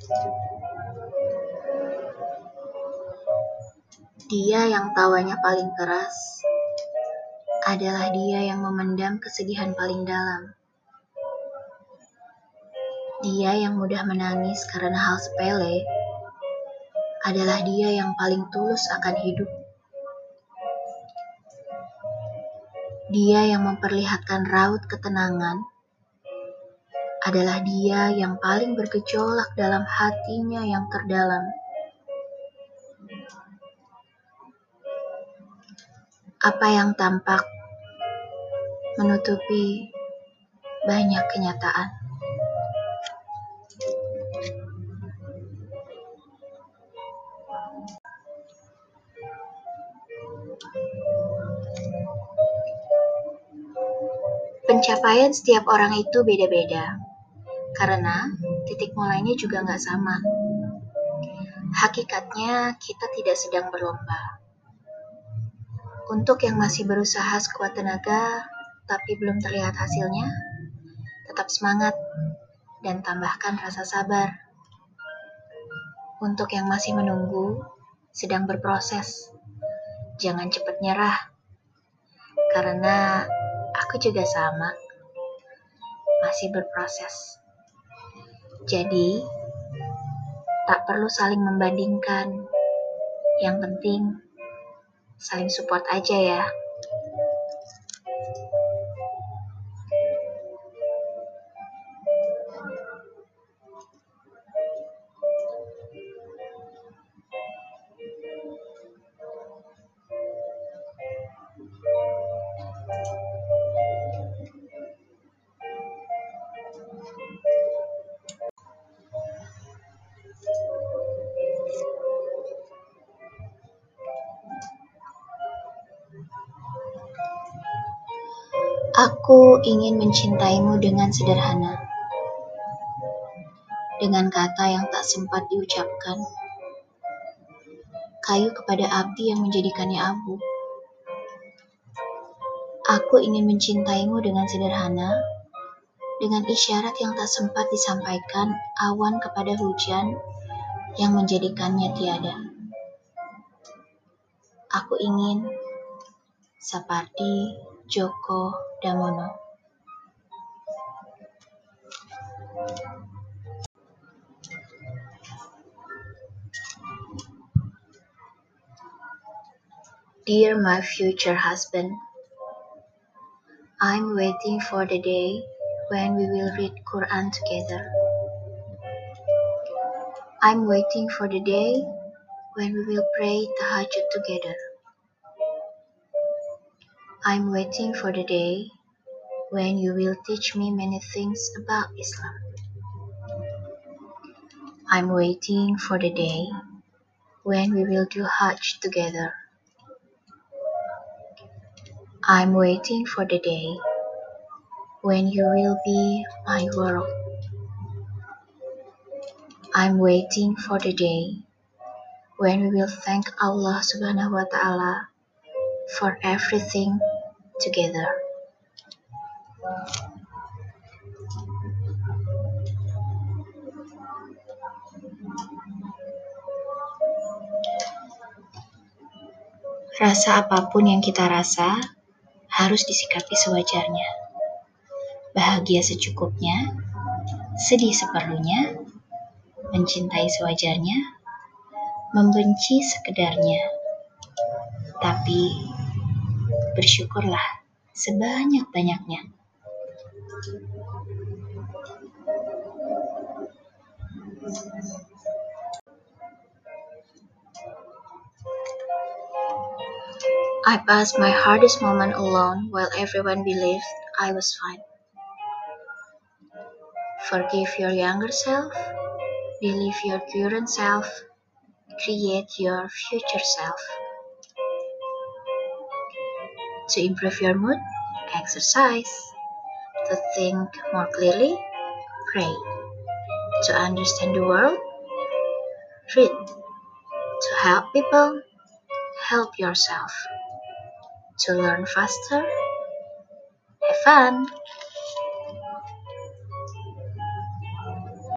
Dia yang tawanya paling keras adalah dia yang memendam kesedihan paling dalam. Dia yang mudah menangis karena hal sepele adalah dia yang paling tulus akan hidup. Dia yang memperlihatkan raut ketenangan adalah dia yang paling bergejolak dalam hatinya yang terdalam. Apa yang tampak menutupi banyak kenyataan. Pencapaian setiap orang itu beda-beda, karena titik mulainya juga nggak sama. Hakikatnya kita tidak sedang berlomba. Untuk yang masih berusaha sekuat tenaga, tapi belum terlihat hasilnya, tetap semangat dan tambahkan rasa sabar. Untuk yang masih menunggu, sedang berproses, jangan cepat nyerah. Karena aku juga sama, masih berproses. Jadi, tak perlu saling membandingkan. Yang penting, saling support aja ya. Aku ingin mencintaimu dengan sederhana, dengan kata yang tak sempat diucapkan, kayu kepada api yang menjadikannya abu. Aku ingin mencintaimu dengan sederhana, dengan isyarat yang tak sempat disampaikan, awan kepada hujan yang menjadikannya tiada. Aku ingin seperti Djoko Damono. Dear my future husband, I'm waiting for the day when we will read Quran together. I'm waiting for the day when we will pray tahajjud together. I'm waiting for the day when you will teach me many things about Islam. I'm waiting for the day when we will do Hajj together. I'm waiting for the day when you will be my world. I'm waiting for the day when we will thank Allah Subhanahu wa Ta'ala for everything together. Rasa apapun yang kita rasa harus disikapi sewajarnya. Bahagia secukupnya, sedih seperlunya, mencintai sewajarnya, membenci sekedarnya. Tapi bersyukurlah sebanyak-banyaknya. I passed my hardest moment alone while everyone believed I was fine. Forgive your younger self, believe your current self, create your future self. To improve your mood, exercise. To think more clearly, pray. To understand the world, read. To help people, help yourself. To learn faster, have fun.